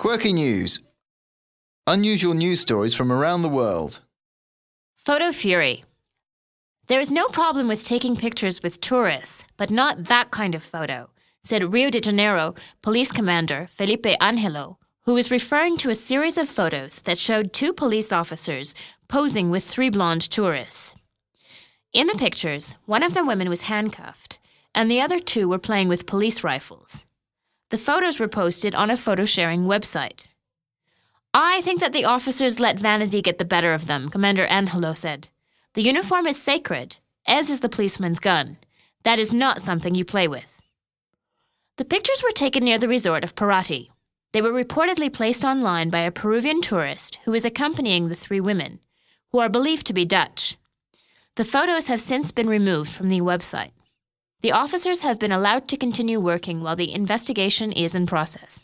Quirky news. Unusual news stories from around the world. Photo fury. There is no problem with taking pictures with tourists, but not that kind of photo, said Rio de Janeiro police commander Felipe Angelo, who was referring to a series of photos that showed 2 police officers posing with 3 blonde tourists. In the pictures, one of the women was handcuffed, and the other 2 were playing with police rifles. The photos were posted on a photo-sharing website. "I think that the officers let vanity get the better of them," Commander Angelo said. "The uniform is sacred, as is the policeman's gun. That is not something you play with." The pictures were taken near the resort of Paraty. They were reportedly placed online by a Peruvian tourist who was accompanying the 3 women, who are believed to be Dutch. The photos have since been removed from the website. The officers have been allowed to continue working while the investigation is in process.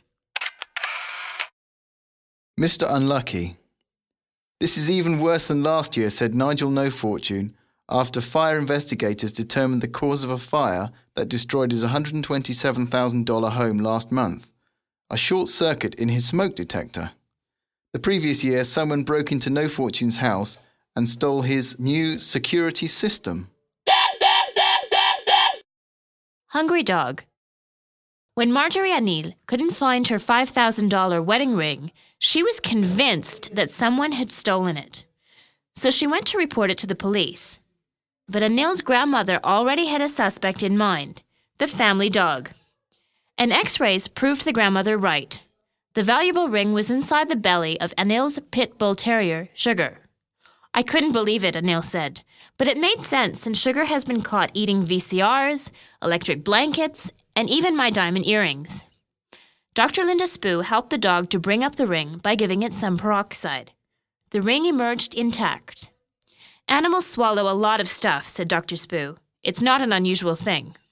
Mr. Unlucky. This is even worse than last year, said Nigel No Fortune, after fire investigators determined the cause of a fire that destroyed his $127,000 home last month. A short circuit in his smoke detector. The previous year, someone broke into No Fortune's house and stole his new security system. Hungry dog. When Marjorie Anil couldn't find her $5,000 wedding ring, she was convinced that someone had stolen it. So she went to report it to the police. But Anil's grandmother already had a suspect in mind, the family dog. An X-rays proved the grandmother right. The valuable ring was inside the belly of Anil's pit bull terrier, Sugar. "I couldn't believe it," Anil said, but it made sense since Sugar has been caught eating VCRs, electric blankets, and even my diamond earrings. Dr. Linda Spoo helped the dog to bring up the ring by giving it some peroxide. The ring emerged intact. "Animals swallow a lot of stuff," said Dr. Spoo. "It's not an unusual thing."